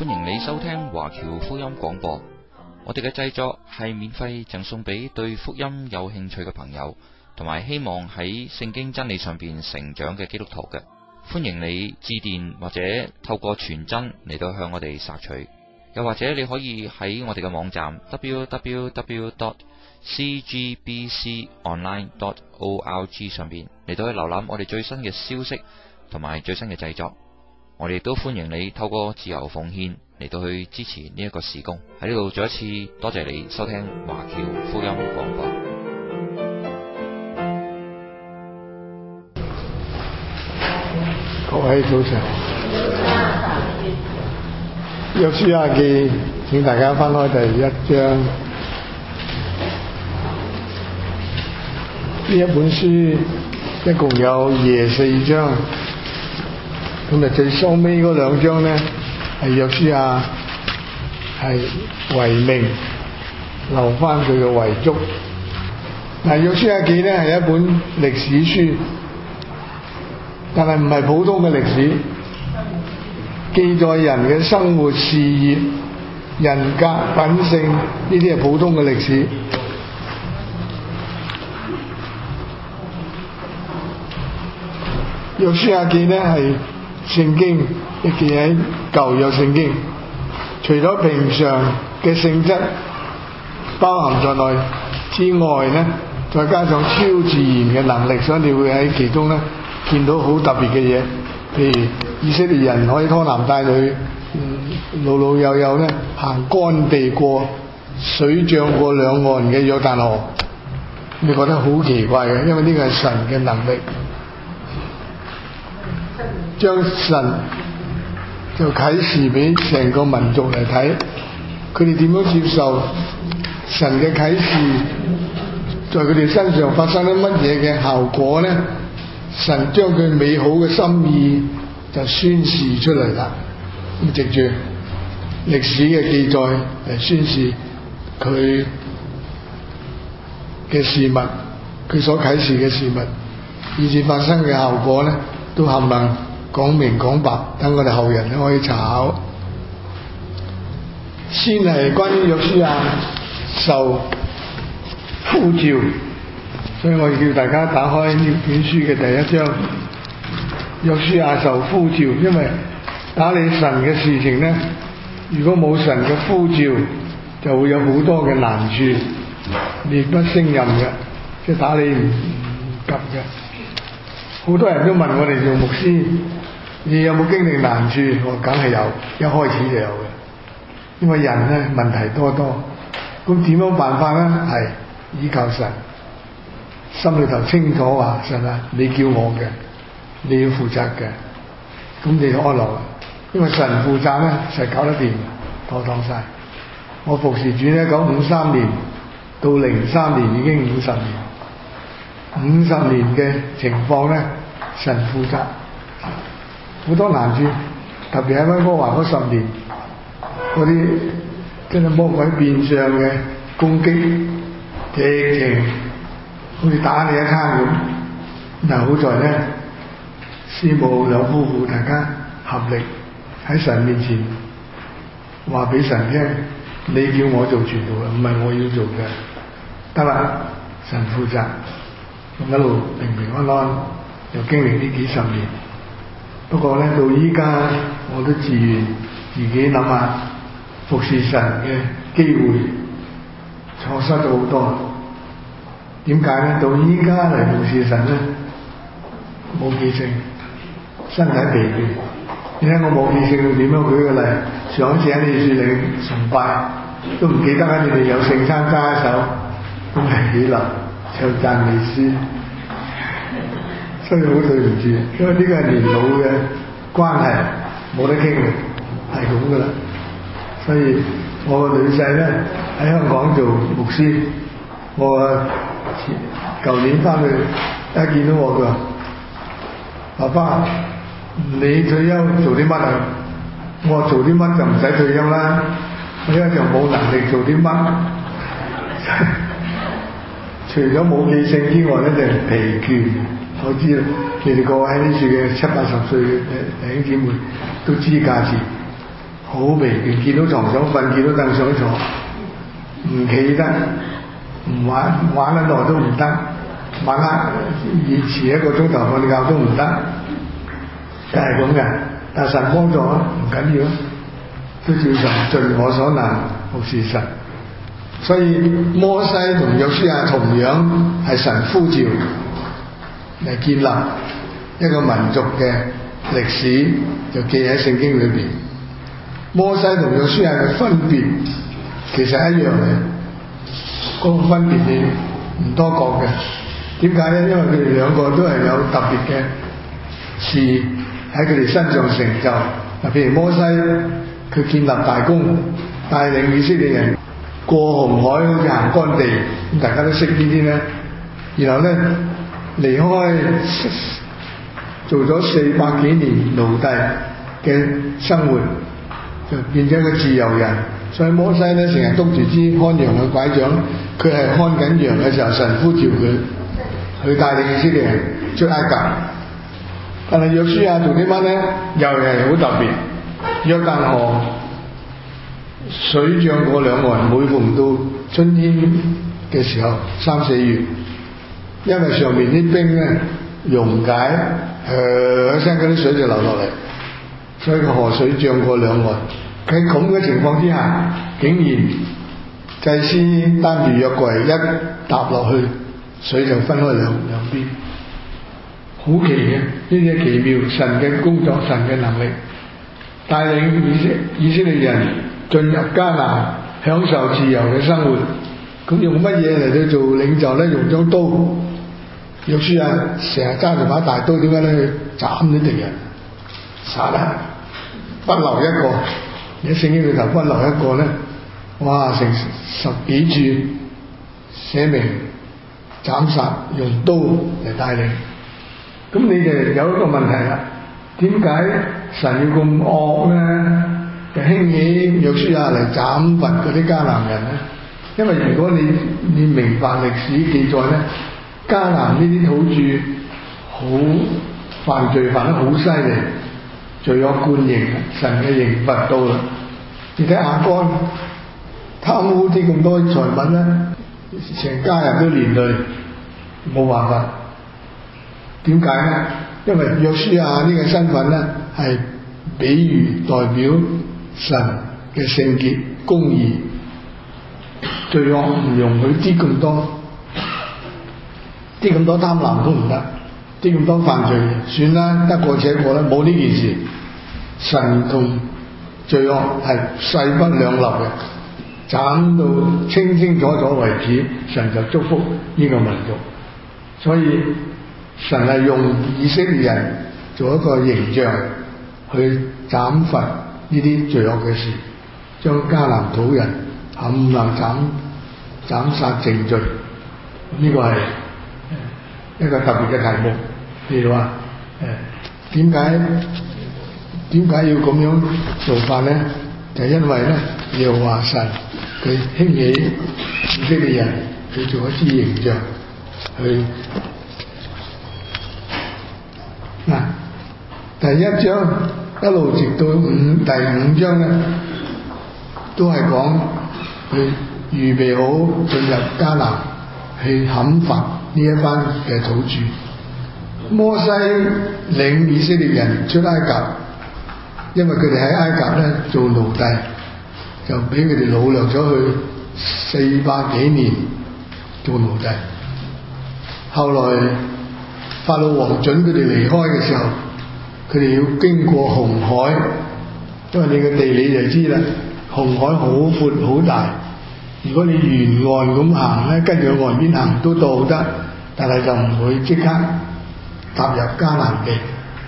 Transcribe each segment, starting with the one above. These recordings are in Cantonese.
歡迎你收聽華僑福音廣播。我哋嘅製作係免費贈送俾對福音有興趣嘅朋友，同埋希望喺聖經真理上邊成長嘅基督徒嘅。歡迎你致電或者透過傳真嚟到向我哋索取，又或者你可以喺我哋嘅網站 www.cgbconline.org 上邊嚟到去瀏覽我哋最新嘅消息同埋最新嘅製作。我哋都歡迎你透過自由奉獻嚟到去支持呢一個事工。喺呢度再一次多謝你收聽華僑福音廣播。 各位早晨，約書亞記，請大家翻開第1章。呢一本書一共有24章。咁啊，最收尾嗰2章咧，係約書亞係遺命留翻佢嘅遺囑。嗱，約書亞記咧係一本歷史書，但係唔係普通嘅歷史，記載人嘅生活、事業、人格、品性，呢啲係普通嘅歷史。約書亞記咧係聖經亦記喺舊約聖經，除咗平常嘅性質包含在內之外呢，再加上超自然嘅能力，所以你會喺其中呢見到好特別嘅嘢。譬如以色列人可以拖男帶女，老老幼幼呢行乾地過水漲過兩岸嘅約旦河，你覺得好奇怪嘅，因為呢個係神嘅能力。將神就啟示俾成個民族嚟睇，佢哋點樣接受神嘅啟示，在佢哋身上發生咗乜嘢嘅效果呢？神將佢美好嘅心意就宣示出嚟啦。咁藉住歷史嘅記載嚟宣示佢嘅事物，佢所啟示嘅事物，以至發生嘅效果呢，都冚唪唥講明講白，等我哋後人都可以查考。先係關於約書亞受呼召，所以我叫大家打開呢本書嘅第1章。約書亞受呼召，因為打理神嘅事情呢，如果冇神嘅呼召，就會有好多嘅難處，力不勝任嘅，即係打理唔及嘅。好多人都問我哋做牧師，你有冇經歷難處？我梗係有，一開始就有嘅。因為人呢問題多多，咁點樣辦法呢？係依靠神，心裏頭清楚話神啊，你叫我嘅，你要負責嘅，咁你就安樂啦。因為神負責呢，實搞得掂，妥當晒。我服侍主呢，1953年到03年已經50年，50年嘅情況呢，神負責。好多難處，特別喺溫哥華嗰10年，嗰啲真係魔鬼變相嘅攻擊，直情好似打你一餐咁。但好在呢，師母兩夫婦大家合力喺神面前話俾神聽，你叫我做傳道，唔係我要做嘅，得啦，神負責，一路平平安安，又經歷呢幾10年。不過呢，到依家我都自己諗下服侍神嘅機會錯失咗好多。點解呢？到依家嚟服侍神呢，冇記性，身體疲倦。你睇我冇記性到點樣？舉個例，上一次喺你樹嶺崇拜都唔記得你哋有聖餐揸一手，咁係起立唱讚美詩。所以好對唔住，因為呢個係年老嘅關係，冇得傾嘅，係咁噶啦。所以我個女婿咧喺香港做牧師，我舊年翻去一見到我，佢話：爸爸，你退休做啲乜啊？我話做啲乜就唔使退休啦，我而家就冇能力做啲乜。除咗冇記性之外咧，就係疲倦。我知啦，你哋各位喺呢處嘅70-80歲嘅弟兄姊妹都知價錢，好好疲倦，見到床想瞓，見到凳想坐，唔企得，唔玩得耐都唔得，晚黑遲1個鐘頭瞓覺都唔得，就係咁嘅。但神幫助啊，唔緊要，都照常盡我所能服侍神。所以摩西同約書亞同樣係神呼召嚟建立一個民族嘅歷史，就記喺聖經裏邊。摩西同約書亞嘅分別其實一樣嘅，嗰個分別你唔多覺嘅。點解呢？因為佢哋兩個都係有特別嘅事喺佢哋身上成就。嗱，譬如摩西佢建立大功，帶領以色列人過紅海好似行乾地，咁大家都識呢啲咧。然後咧離開做咗400幾年奴隸嘅生活，就變咗一個自由人。所以摩西咧成日督住支看羊嘅拐杖，佢係看緊羊嘅時候，神呼召佢去帶領以色列人出埃及。但係約書亞做啲乜咧？又係好特別。約旦河水漲過兩岸，每逢到春天嘅時候，3、4月，因為上面啲冰咧溶解，一聲嗰啲水就流落嚟，所以個河水漲過兩岸。喺咁嘅情況之下，竟然祭司擔住約櫃一踏落去，水就分開兩邊，好奇嘅，呢啲係奇妙，神嘅工作，神嘅能力，帶領以色列人進入迦南，享受自由嘅生活。咁用乜嘢嚟到做領袖咧？用張刀。約書亞成日揸住把大刀，點解咧？去斬啲敵人，殺啦，不留一個。喺聖經裏頭不留一個咧，哇！成10幾處寫明斬殺，用刀嚟帶領。咁你哋有一個問題啦，點解神要咁惡咧？就興起約書亞嚟斬伐嗰啲迦南人咧？因為如果你明白歷史記載咧，迦南呢啲土著好犯罪，犯得好犀利。罪惡貫盈，神嘅刑罰到啦。你睇亞干貪污啲咁多財物咧，成家人都連累，冇辦法。點解咧？因為約書亞呢個身份咧係比喻代表神嘅聖潔、公義，罪惡唔容許啲咁多貪婪都唔得。啲咁多犯罪，算啦，得過且過啦，冇呢件事。神同罪惡係勢不兩立嘅，斬到清清楚楚為止，神就祝福呢個民族。所以神係用以色列人做一個形象去斬伐呢啲罪惡嘅事，將迦南土人冚唪唥斬殺淨盡。呢個係一個特別嘅題目。譬如話點解要咁樣做法咧？就因為咧，耶和華神佢興起以色列人去做一支形象去。嗱，第1章一路直到第5章咧，都係講去預備好進入迦南去砍伐呢一班嘅土著。摩西領以色列人出埃及，因為佢哋喺埃及咧做奴隸，就俾佢哋擄掠咗去400幾年做奴隸。後來法老王准佢哋離開嘅時候，佢哋要經過紅海，因為你嘅地理就知啦，紅海好闊好大。如果你沿岸咁行咧，跟住岸邊行都到得，但係就唔會即刻踏入迦南地。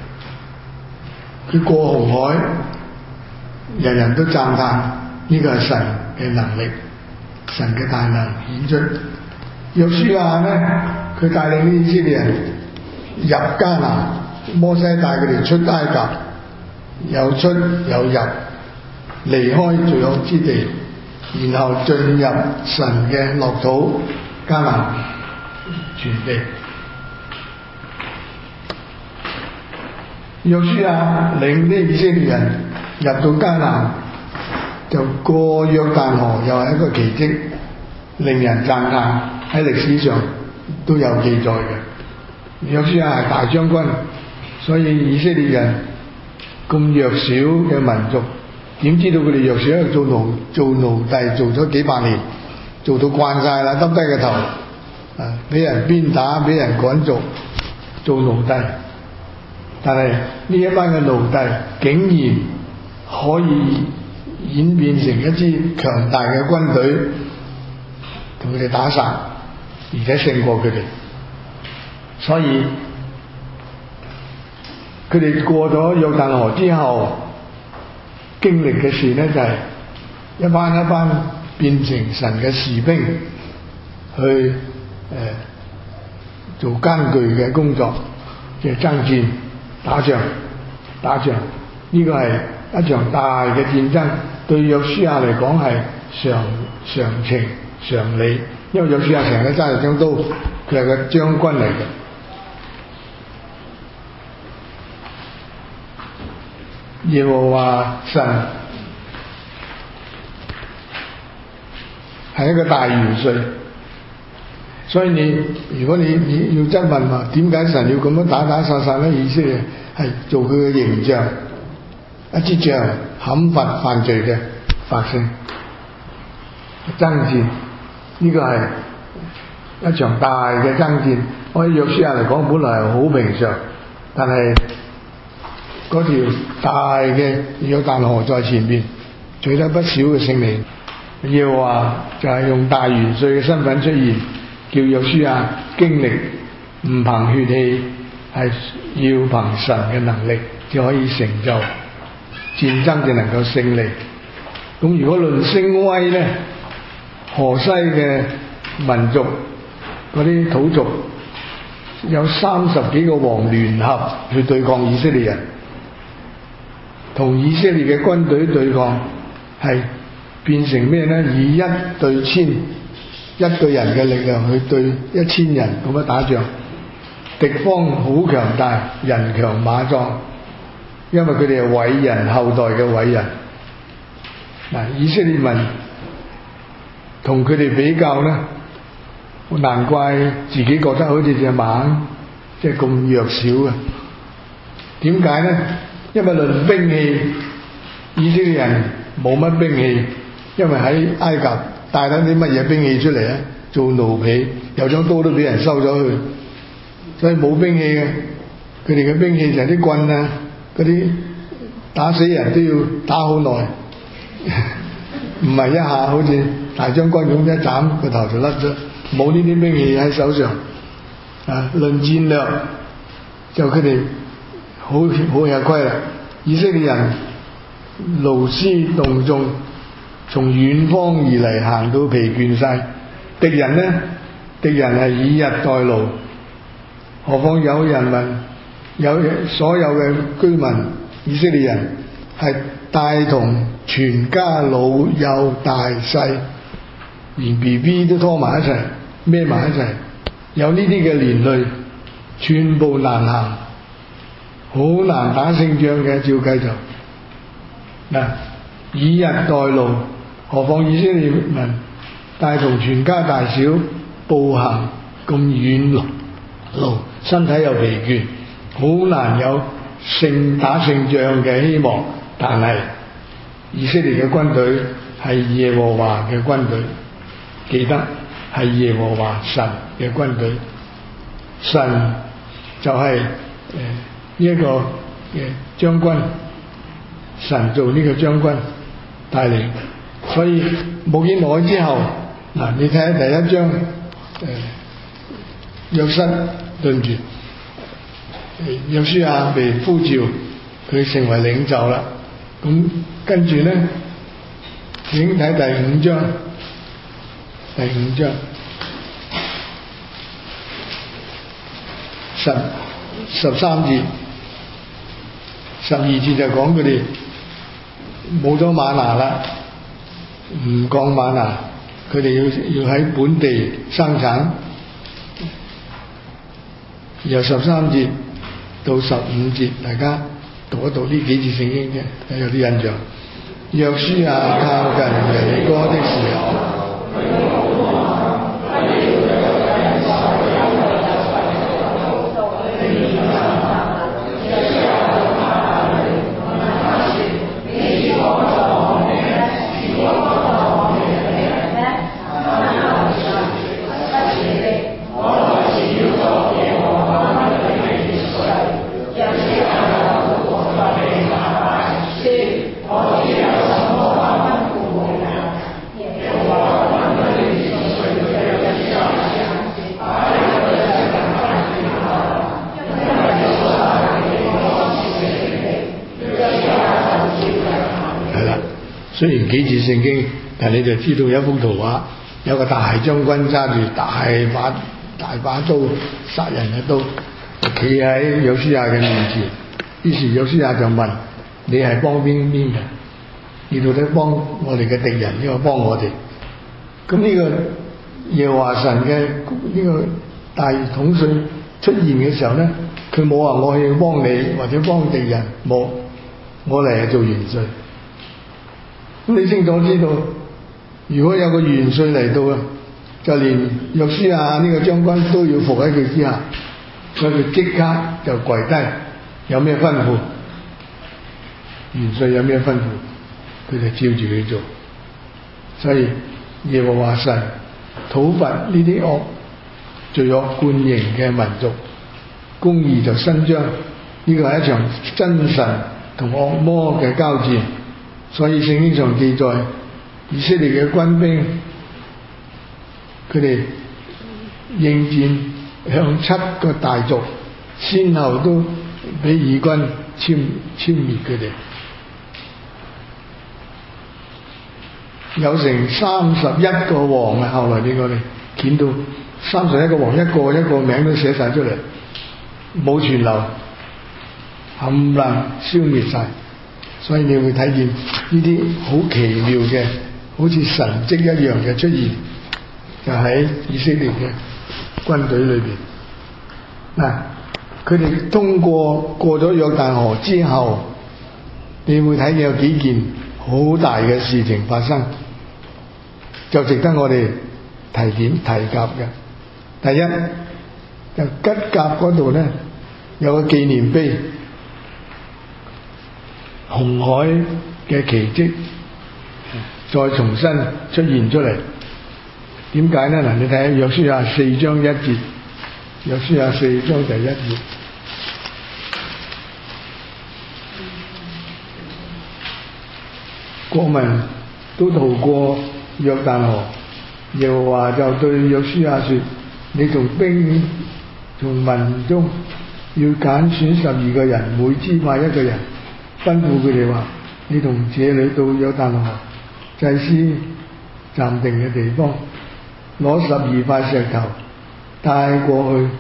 佢過紅海，人人都讚嘆呢個係神嘅能力，神嘅大能顯出。約書亞咧，佢帶領啲以色列人入迦南，摩西帶佢哋出埃及，有出有入，離開罪惡之地，然後進入神嘅樂土迦南全地。約書亞領啲以色列人入到迦南， 就過約旦河又係一個奇蹟，令人讚嘆，喺歷史上都有記載嘅。約書亞係大將軍，所以以色列人咁弱小嘅民族，點知道佢哋弱小？因為做奴隸做咗幾百年，做到慣晒啦，耷低個頭，俾人鞭打，俾人趕逐，做奴隸。但係呢一班嘅奴隸竟然可以演變成一支強大嘅軍隊，同佢哋打殺，而且勝過佢哋。所以佢哋過咗約旦河之後，經歷嘅事呢，就係一班一班變成神嘅士兵，去做艱巨嘅工作，即係爭戰。打仗，呢個係一場大嘅戰爭，對約書亞嚟講係常情常理，因為約書亞成日揸住張刀，佢係個將軍嚟嘅。耶和華神係一個大元帥。所以如果你要質問話，點解神要咁樣打殺咧？以色列係做佢嘅形象，一支杖砍伐犯罪嘅百姓，爭戰，呢個係一場大嘅爭戰。我喺約書亞嚟講，本來係好平常，但係嗰條大嘅約旦河在前面，取得不少嘅勝利。耶和華就係用大元帥嘅身份出現，叫約書亞經歷唔憑血氣，係要憑神嘅能力就可以成就戰爭，就能夠勝利。咁如果論聲威呢，河西嘅民族嗰啲土族有30幾個王聯合去對抗以色列人，同以色列嘅軍隊對抗，係變成咩呢？以1對1000，一個人嘅力量去對1000人咁樣打仗，敵方好強大，人強馬壯，因為佢哋係偉人後代嘅偉人。以色列民同佢哋比較呢，難怪自己覺得好似隻馬，即係咁弱小啊。點解呢？因為論兵器，以色列人冇乜兵器，因為喺埃及帶得啲乜嘢兵器出嚟啊？做奴婢，有張刀都俾人收咗去，所以冇兵器嘅。佢哋嘅兵器就係啲棍啊，嗰啲打死人都要打好耐，唔係一下好似大將軍咁一斬個頭就甩咗。冇呢啲兵器喺手上。論戰略就佢哋好吃虧啦。以色列人勞師動眾，從遠方而嚟，行到疲倦晒。敵人呢？敵人係以逸待勞，何況有人民，有所有嘅居民，以色列人係帶同全家老幼大細，連 BB 都拖埋一齊，孭埋一齊，有呢啲嘅連累，寸步難行，好難打勝仗嘅。照計就以逸待勞，何況以色列民帶同全家大小步行咁遠路，身體又疲倦，好難有打勝仗嘅希望。但係以色列嘅軍隊係耶和華嘅軍隊，記得係耶和華神嘅軍隊，神就係呢一個嘅將軍，神做呢個將軍帶領。所以冇幾耐之後，你睇下第一章，約瑟對唔住，約書亞被呼召，佢成為領袖啦。咁跟住咧，請睇第5章，第5章13節、12節就講佢哋冇咗嗎哪啦，唔降嗎哪，佢哋要喺本地生產。由13節到15節，大家讀一讀呢幾節聖經啫，有啲印象。 約書亞靠近耶利哥的時候，雖然幾節聖經，但你就知道一幅圖畫，有個大將軍揸住大把刀殺人嘅刀，企喺約書亞嘅面前。於是約書亞就問：你係幫邊嘅？你到底幫我哋嘅敵人，呢個幫我哋？咁呢個耶和華神嘅呢個大統帥出現嘅時候咧，佢冇話我去幫你或者幫敵人，冇，我嚟係做元帥。咁你清楚知道，如果有個元帥嚟到啊，就連約書亞呢個將軍都要服喺佢之下，所以佢即刻就跪低。有咩吩咐？元帥有咩吩咐，佢就照住佢做。所以耶和華神討伐呢啲惡罪惡貫盈嘅民族，公義就伸張。呢個係一場真神同惡魔嘅交戰。所以聖經上記載，以色列嘅軍兵，佢哋應戰向7個大族，先後都俾義軍殲滅佢哋，有成31個王啊！後來俾我哋見到31個王，一個一個名都寫晒出嚟，冇存留，冚唪唥消滅晒。所以你會睇見呢啲好奇妙嘅，好似神蹟一樣嘅出現，就喺以色列嘅軍隊裏邊。嗱，佢哋通過咗約旦河之後，你會睇見有幾件好大嘅事情發生，就值得我哋提及嘅。第一，就吉甲嗰度咧有個紀念碑。紅海嘅奇蹟再重新出現出嚟，點解呢？嗱，你睇下約書亞4章1節，約書亞4章第1節，國民都渡過約旦河，耶和華就對約書亞說：你從民中要揀選12個人，每支派1個人。吩咐佢哋話：你同這裏到約旦河祭司暫定嘅地方，攞12塊石頭帶過去，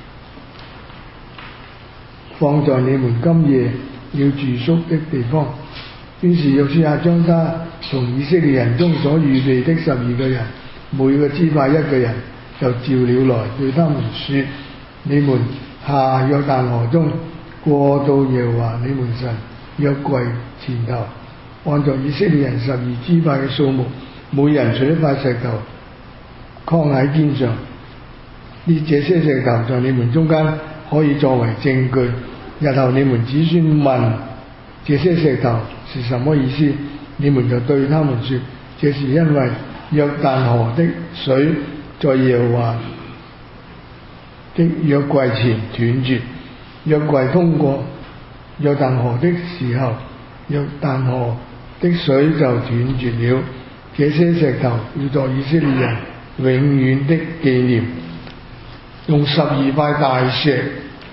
放在你們今夜要住宿的地方。於是約書亞將他從以色列人中所預備的12個人，每個支派1個人，就召了來，對他們說：你們下約旦河中，過到耶和華你們神約櫃前頭，按照以色列人12支派嘅數目，每人取1塊石頭，扛喺肩上。這些石頭在你們中間可以作為證據。日後你們子孫問這些石頭是什麼意思，你們就對他們說：這是因為約旦河的水在耶和華的約櫃前斷絕，約櫃通過約旦河的時候，約旦河的水就斷絕了。這些石頭要作以色列人永遠的紀念。用12塊大石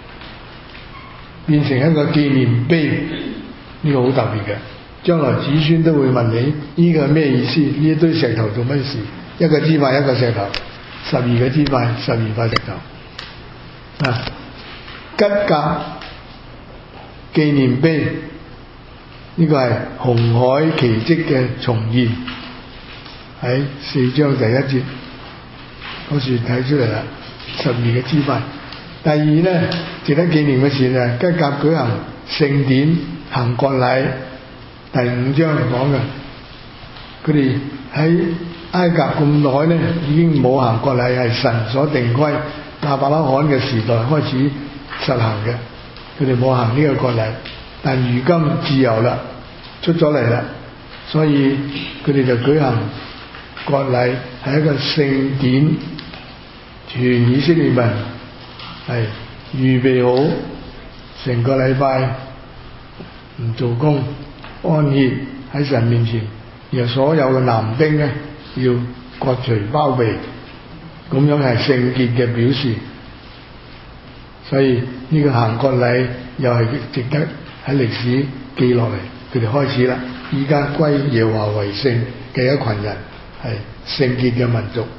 變成一個紀念碑，呢個好特別嘅。將來子孫都會問你：呢個係咩意思？呢一堆石頭做乜事？一個支派一個石頭，12個支派12塊石頭。吉甲紀念碑，呢個係紅海奇蹟嘅重現，喺4章第1節嗰時睇出嚟啦。12個支派。第二呢，值得紀念嘅事就係吉甲舉行聖典行割禮， 第5章講嘅，佢哋喺埃及咁耐呢，已經冇行割禮，係神所定規，亞伯拉罕嘅時代開始實行嘅，佢哋冇行呢個割禮，但如今自由啦，出咗嚟啦，所以佢哋就舉行割禮，係一個聖典，全以色列民係預備好成個禮拜唔做工，安歇喺神面前，然後所有嘅男丁呢，要割除包皮，咁樣係聖潔嘅表示。所以呢個行割禮又係值得喺歷史記落嚟，佢哋開始啦，依家歸耶和華為聖嘅一群人，係聖潔嘅民族。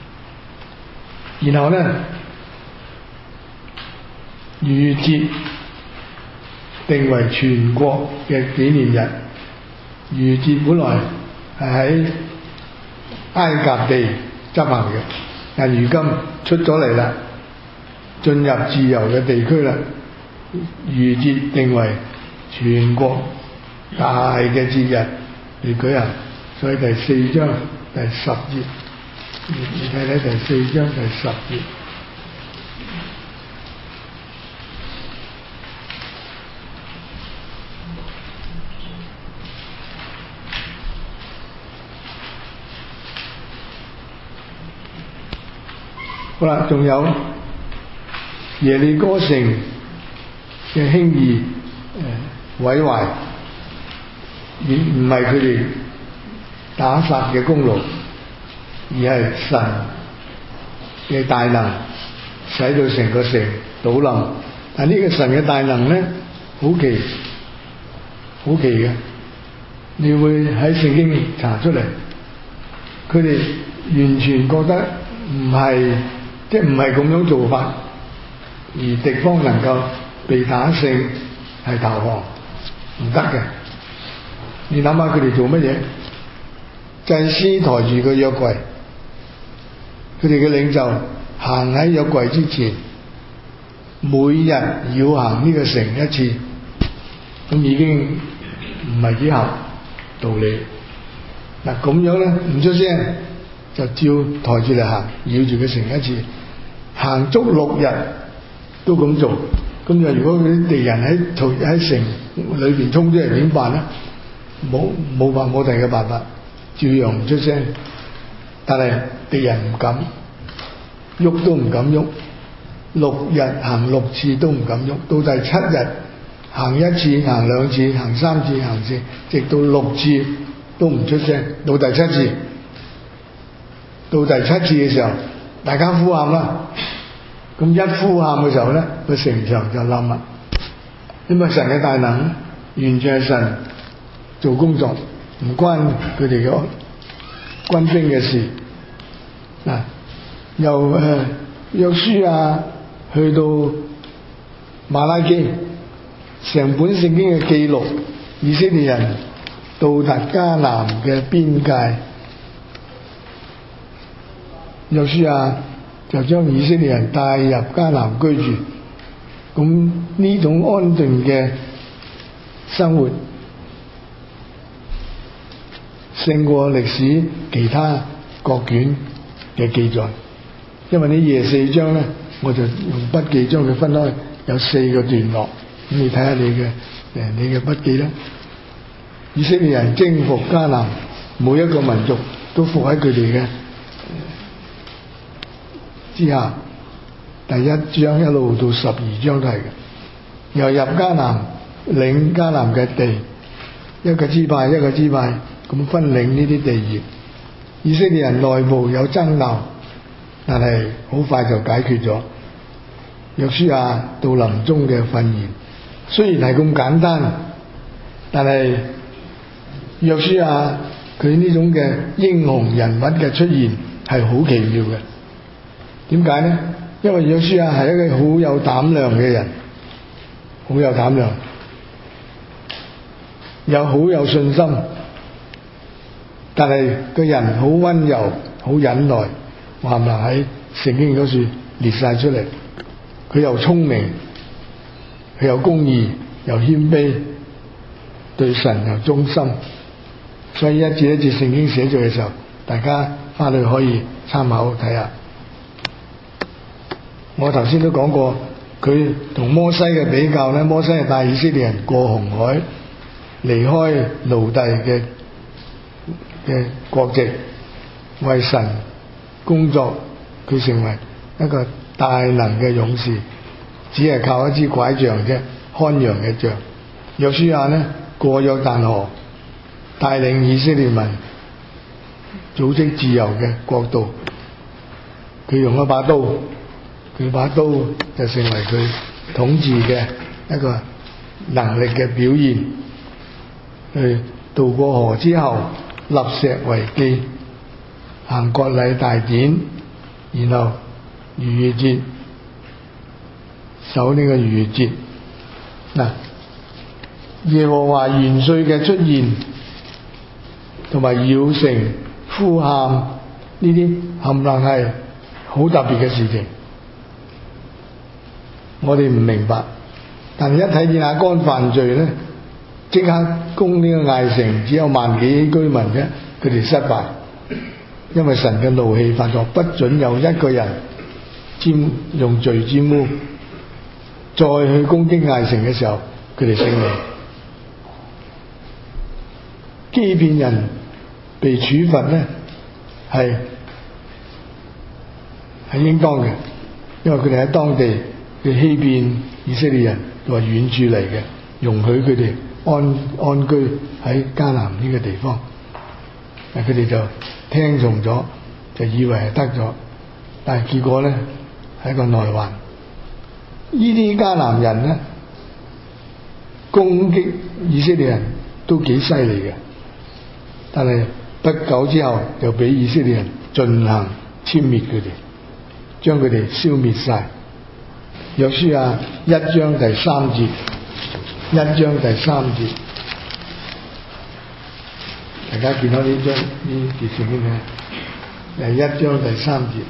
然後呢，逾越節定為全國嘅紀念日。逾越節本來係喺埃及地執行嘅，但如今出咗嚟啦，進入自由嘅地區啦。逾越節定為全國大嘅節日嚟舉行，所以第4章第10節，你睇睇第4章第10節。好啦，仲有耶利哥城嘅輕易毀壞，唔係佢哋打殺嘅功勞，而係神嘅大能使到成個城倒冧。但呢個神嘅大能呢，好奇嘅，你會喺聖經查出嚟，佢哋完全覺得唔係咁樣做法，而敵方能夠被打勝係投降，唔得嘅。你諗下佢哋做乜嘢？祭司抬住個約櫃，佢哋嘅領袖行喺約櫃之前，每日要行呢個城一次，咁已經唔係幾合道理。嗱，咁樣咧唔出聲，就照抬住嚟行，繞住個城一次，行足6日都咁做。咁就如果啲敵人喺城裏邊衝出嚟點辦咧？冇第二個辦法，照樣唔出聲。但係敵人唔敢喐，都唔敢喐。6日行6次都唔敢喐，到第7日行1次、行2次、行3次、行4次，直到6次都唔出聲。到第7次嘅時候，大家呼喊啦。咁一呼喊嘅時候咧，個城牆就冧啦。因為神嘅大能完全係神做工作，唔關佢哋嘅軍兵嘅事。嗱，由約書亞去到馬拉基，成本聖經嘅記錄，以色列人到達迦南嘅邊界，約書亞就將以色列人帶入迦南居住。咁呢種安定嘅生活勝過歷史其他國卷嘅記載，因為呢24章咧，我就用筆記將佢分開，有4個段落，咁你睇下你嘅筆記啦。以色列人征服迦南，每一個民族都服喺佢哋嘅之下。第1章一路到12章都係嘅，又入迦南，領迦南嘅地，一個支派咁分領呢啲地業。以色列人內部有爭拗，但係好快就解決咗。約書亞到臨終嘅訓言，雖然係咁簡單，但係約書亞佢呢種嘅英雄人物嘅出現係好奇妙嘅。點解呢？因為約書亞係一個好有膽量嘅人，好有膽量，又好有信心，但係個人好溫柔、好忍耐，話唔埋喺聖經嗰處列晒出嚟。佢又聰明，佢又公義，又謙卑， 對神又忠心。所以一節一節聖經寫咗嘅時候，大家翻去可以參考睇下。我頭先都講過，佢同摩西嘅比較呢，摩西係帶以色列人過紅海，離開奴隸嘅國籍，為神工作，佢成為一個大能嘅勇士，只係靠一支拐杖啫，看羊嘅杖。約書亞呢，過約旦河，帶領以色列民組織自由嘅國度，佢用一把刀，佢把刀就成為佢統治嘅一個能力嘅表現。去渡過河之後，立石為記，行割禮大典，然後逾越節守呢個逾越節。嗱，耶和華元帥嘅出現同埋繞城呼喊呢啲冚唪唥係好特別嘅事情，我哋唔明白，但係一睇見亞干犯罪呢，即刻攻呢個艾城，只有1萬幾居民啫，佢哋失敗，因為神嘅怒氣發作，不准有一個人用罪沾污，再去攻擊艾城嘅時候，佢哋勝利。基遍人被處罰呢，係應當嘅，因為佢哋喺當地嘅欺騙以色列人，佢話遠處嚟嘅，容許佢哋安居喺迦南呢個地方，但佢哋就聽從咗，就以為係得咗，但係結果呢係一個內患。呢啲迦南人呢，攻擊以色列人都幾犀利嘅，但係不久之後就俾以色列人進行殲滅佢哋，將佢哋消滅晒。約書亞1章第3節，1章第3節，大家見到呢張呢節聖經咧，係1章第3節，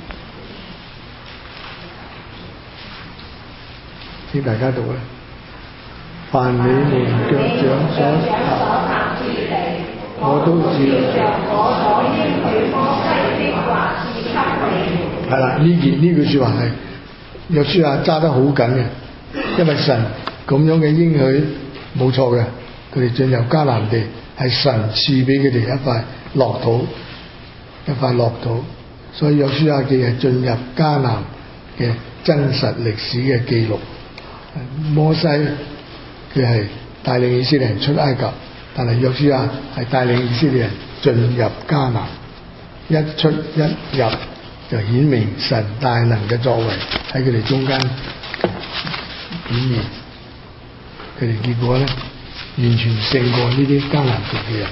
請大家讀啦。凡你們腳掌所行之地，我都照着我所應許摩西的話賜給你們。係啦，呢句說話係約書亞揸得好緊嘅，因為神咁樣嘅應許冇錯嘅，佢哋進入迦南地係神賜俾佢哋一塊樂土，一塊樂土，所以約書亞記係進入迦南嘅真實歷史嘅記錄。摩西佢係帶領以色列人出埃及，但係約書亞係帶領以色列人進入迦南，一出一入就顯明神大能嘅作為喺佢哋中間顯現，佢哋結果呢，完全勝過呢啲迦南族嘅人。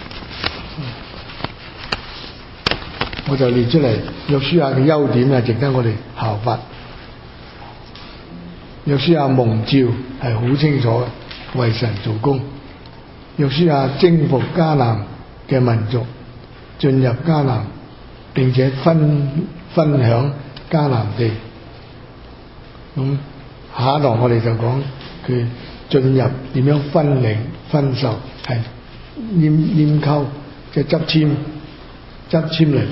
我就列出嚟約書亞嘅優點啊，值得我哋效法。約書亞蒙召係好清楚為神做工。約書亞征服迦南嘅民族，進入迦南，並且分享迦南地。咁下一堂我哋就講佢進入點樣分領分受，係拈鬮，即係執籤嚟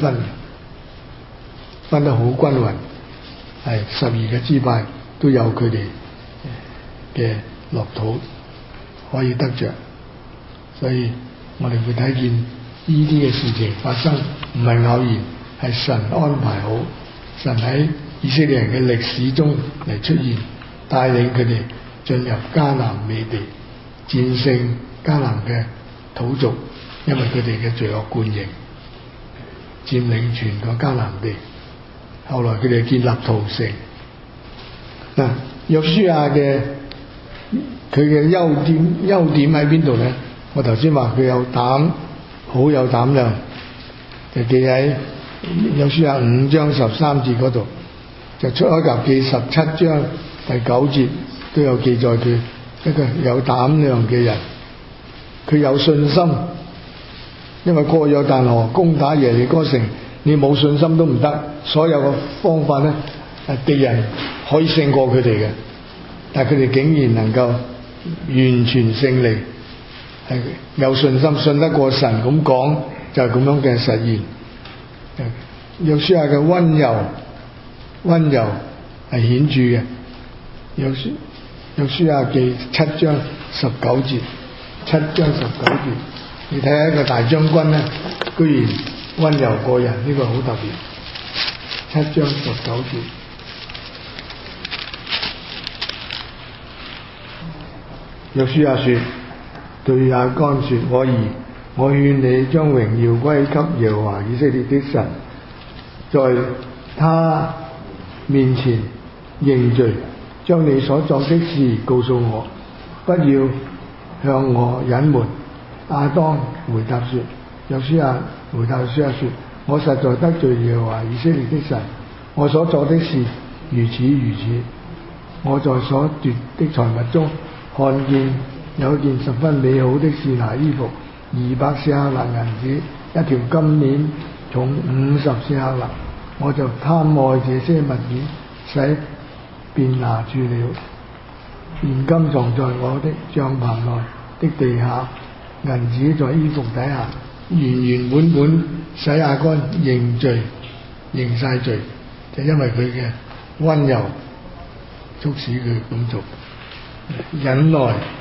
分得好均勻，係12個支派都有佢哋嘅樂土可以得着，所以我哋會睇見呢啲嘅事情發生唔係偶然，係神安排好，神喺以色列人嘅歷史中嚟出現，帶領佢哋進入迦南美地，戰勝迦南嘅土族，因為佢哋嘅罪惡貫盈，佔領全個迦南地。後來佢哋建立屠城。嗱，約書亞嘅佢嘅優點喺邊度呢？我頭先話佢有膽，好有膽量，就記喺約書亞5章13節嗰度，就出埃及記17章第9節都有記載佢一個有膽量嘅人，佢有信心，因為過約旦河攻打耶利哥城，你冇信心都唔得，所有嘅方法呢，敵人可以勝過佢哋嘅，但係佢哋竟然能夠完全勝利， 係有信心，信得過神咁講，就係咁樣嘅實現。約書亞嘅溫柔係顯著嘅。約書亞記7章19節，7章19節，你睇下一個大將軍咧，居然溫柔過人，呢個好特別。7章19節，約書亞說，對亞干說，我兒，我勸你將榮耀歸給耶和華以色列的神，在他面前認罪，將你所作的事告訴我，不要向我隱瞞。亞當回答說，約書亞回答約書亞說，我實在得罪耶和華以色列的神，我所做的事如此如此。我在所奪的財物中看見有一件十分美好的是拿衣服，200舍客勒銀子，一條金鏈重50舍客勒，我就貪愛這些物件，使便拿住了。現今藏在我的帳棚內的地下，銀子在衣服底下，原本使亞干認罪，認晒罪，就因為佢嘅溫柔促使佢咁做。忍耐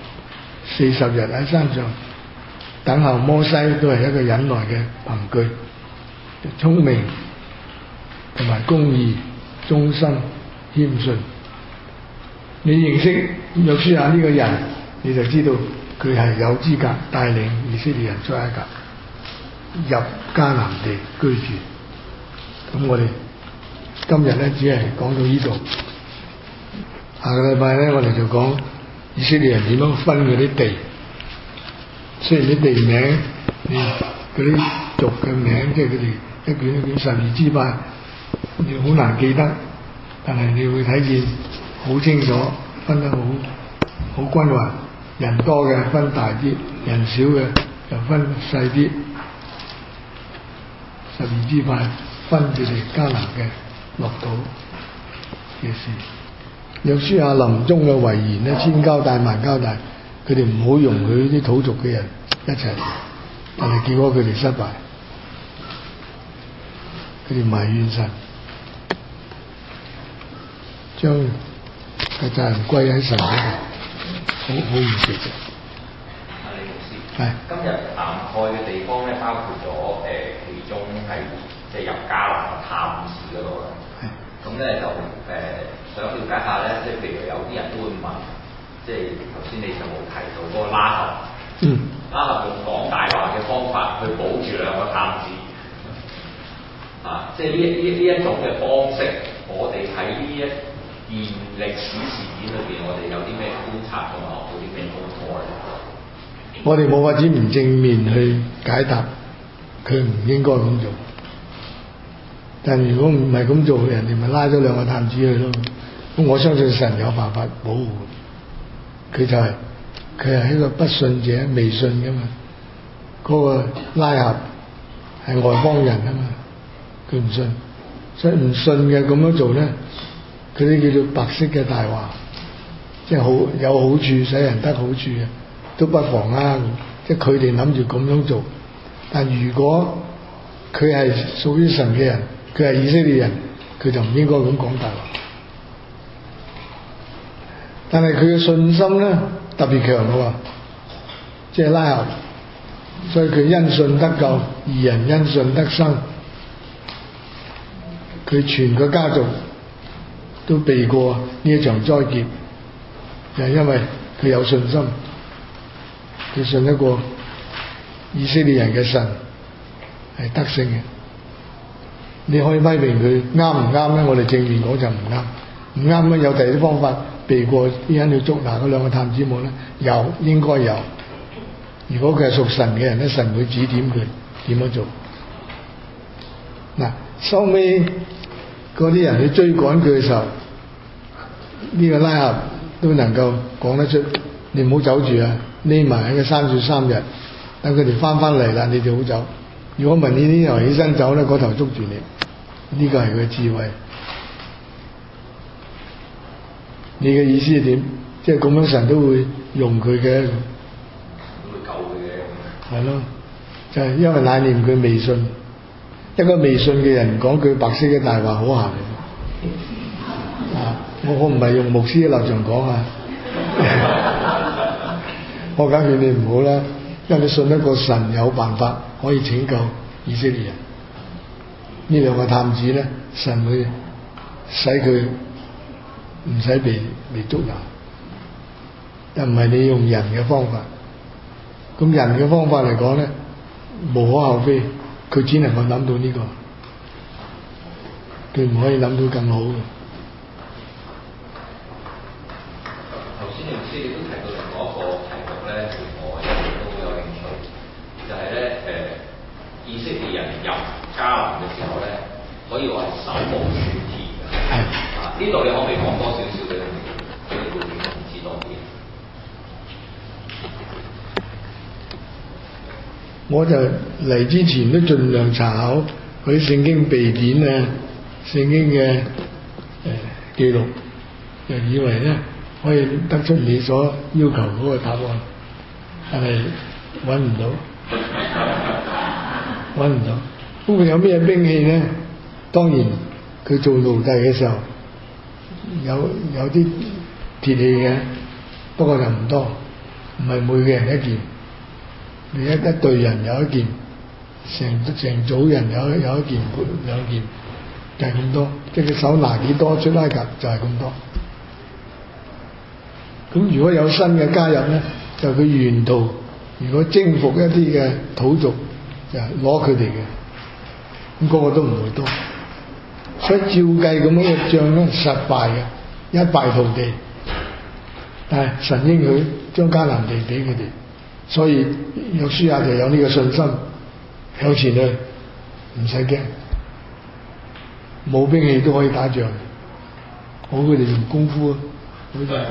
40日喺山上等候摩西，都係一個忍耐嘅憑據。聰明同埋公義、忠心、謙遜。你認識約書亞呢個人，你就知道佢係有資格帶領以色列人出埃及，入迦南地居住。咁我哋今日咧只係講到呢度，下個禮拜咧我哋就講以色列人點樣分嗰啲地。雖然啲地名，嗰啲族嘅名，即係佢哋一卷一卷12支派，你好難記得，但係你會睇見好清楚，分得好均勻。人多嘅分大啲，人少嘅就分細啲。12支派分佢哋迦南嘅國土嘅事。約書亞臨終嘅遺言咧，千交代萬交代，佢哋唔好容許啲土族嘅人一齊，但係結果佢哋失敗，佢哋埋怨神，將個責任歸喺神嗰度，好唔值嘅。 阿李牧師， 係今日涵蓋嘅地方咧，包括咗其中係即係入迦南探視嗰度啦。係。咁咧就想了解下咧，即係譬如有啲人都會問，即係頭先你就冇提到嗰個拉合。拉合用講大話嘅方法去保住兩個探子。即係呢一種嘅方式，我哋喺呢一件歷史事件裏邊，我哋有啲咩觀察同埋學到啲咩功課咧？ 我哋冇法子唔正面去解答，佢唔應該咁做。但如果唔係咁做，人哋咪拉咗兩個探子去咯。咁我相信神有辦法保護佢，佢係一個不信者，未信噶嘛。嗰個拉合係外邦人啊嘛，佢唔信，所以唔信嘅咁樣做咧，佢啲叫做白色嘅大話，即係好有好處，使人得好處嘅，都不妨啊。即係佢哋諗住咁樣做，但如果佢係屬於神嘅人，佢係以色列人，佢就唔應該咁講大話。但係佢嘅信心咧特別強嘅喎，即係拉合，所以佢因信得救，義人因信得生。佢全個家族都避過呢一場災劫，就係因為佢有信心，佢信得過以色列人嘅神係得勝嘅。你可以批評佢啱唔啱咧？我哋正面講就唔啱，唔啱咧有第二啲方法避過啲人去捉拿嗰兩個探子冇咧？有，應該有。如果佢係屬神嘅人咧，神會指點佢點樣做。嗱，收尾嗰啲人去追趕佢嘅時候，呢個拉合都能夠講得出，你唔好走住啊，匿埋喺個山樹3日，等佢哋翻嚟啦，你就好走。如果問你呢頭起身走咧，嗰頭捉住你，呢個係佢嘅智慧。你嘅意思係點？即係咁樣神都會用佢嘅， 會救佢嘅。 係咯，就係因為乃念佢未信，一個未信嘅人講句白色嘅大話好閒啊！我唔係用牧師嘅立場講啊，我梗勸你唔好啦，因為你信一個神有辦法可以拯救以色列人。呢兩個探子咧，神會使佢唔使被捉拿，又唔係你用人嘅方法。咁人嘅方法嚟講咧，無可厚非，佢只能夠諗到呢個，佢唔可以諗到更好嘅。 頭先牧師你都提到另外一個題目咧，我一直都好有興趣，就係咧以色列人入迦南嘅時候咧，可以話係手無寸鐵嘅。係啊，呢度你可唔可以講多少少嘅背景知多啲？ 我就嚟之前都盡量查考嗰啲聖經秘典啊、聖經嘅記錄，就以為咧可以得出你所要求嗰個答案，但係揾唔到。咁佢有咩兵器咧？當然佢做奴隸嘅時候有啲鐵器嘅，不過就唔多，唔係每個人一件。你一隊人有一件，成組人有一件兩件，就係咁多。即係佢手拿幾多出埃及就係咁多。咁如果有新嘅加入咧，就佢沿途如果征服一啲嘅土族，就攞佢哋嘅，咁個個都唔會多。所以照計咁樣嘅仗咧實敗嘅，一敗塗地。但係神應許將迦南地俾佢哋。所以約書亞就有呢個信心向前去，唔使驚，冇兵器都可以打仗。好佢哋用功夫啊，好似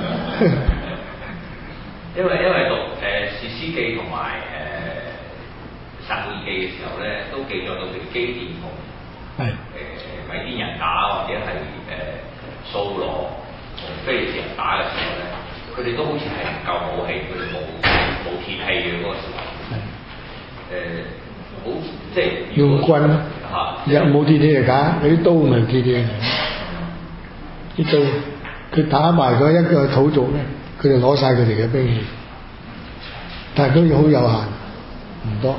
因為讀士師記同埋撒母耳記嘅時候咧，都記載到佢哋基甸同米甸人打，或者係掃羅同非利士人打嘅時候咧，佢哋都好似係唔夠武器，佢哋冇鐵器嘅嗰個時候，好即係用棍嚇，有冇鐵器嚟打？嗰啲刀咪鐵器嚟，啲刀佢打埋嗰一個土族咧，佢就攞晒佢哋嘅兵器，但係都好有限，唔多。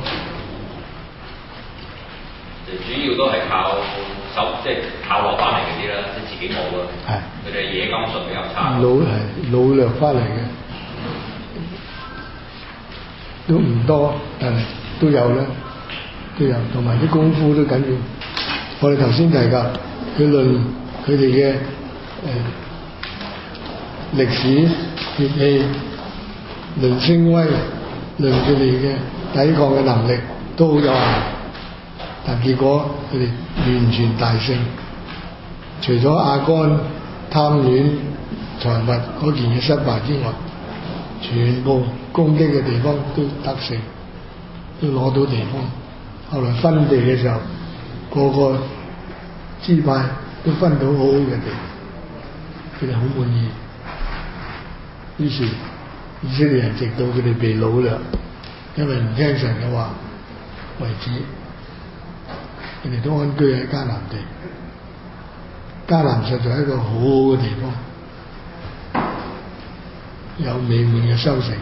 主要都係靠手，即係靠落翻嚟嗰啲啦，即係自己冇啊。係，佢哋野金術比較差。擄掠翻嚟嘅。都唔多，但係都有啦，都有，同埋啲功夫都緊要。我哋頭先提及佢論佢哋嘅歷史、血氣、論聲威、論佢哋嘅抵抗嘅能力都好有限，但結果佢哋完全大勝。除咗亞干貪戀財物嗰件嘅失敗之外，全部攻擊嘅地方都得勝，都攞到地方。後來分地嘅時候，個個支派都分到好好嘅地，佢哋好滿意。於是以色列人直到佢哋被擄掠，因為唔聽神嘅話為止，佢哋都安居喺迦南地。迦南實在係一個好好嘅地方，有美滿嘅收成。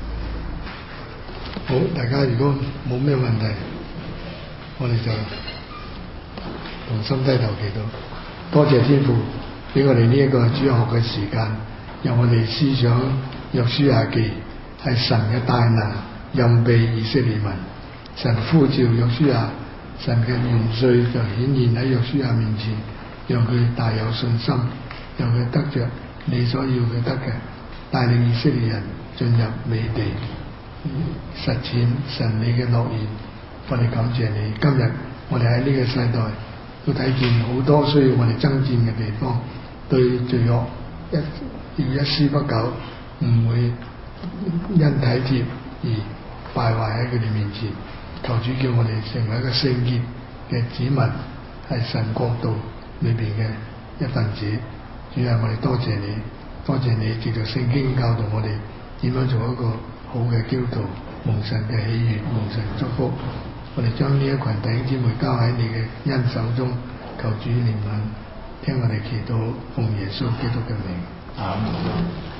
好，大家如果冇咩問題，我哋就同心低頭祈禱。多謝天父俾我哋呢一個主日學嘅時間，讓我哋思想約書亞記係神嘅大能任備以色列民，神呼召約書亞，神嘅元帥就顯現喺約書亞面前，讓佢大有信心，讓佢得着你所要佢得嘅，帶領以色列人進入美地，實踐神你嘅諾言。我哋感謝你，今日我哋喺呢個世代都睇見好多需要我哋爭戰嘅地方，對罪惡要一絲不苟，唔會因體貼而敗壞喺佢哋面前。求主叫我哋成為一個聖潔嘅子民，係神國度裏邊嘅一份子。主啊，我哋多謝你，多謝你藉着聖經教導我哋點樣做一個好好嘅基督徒，蒙神嘅喜悅，蒙神祝福。我哋將呢一群弟兄姊妹交喺你嘅恩手中，求主憐憫，聽我哋祈禱，奉耶穌基督嘅名，阿們。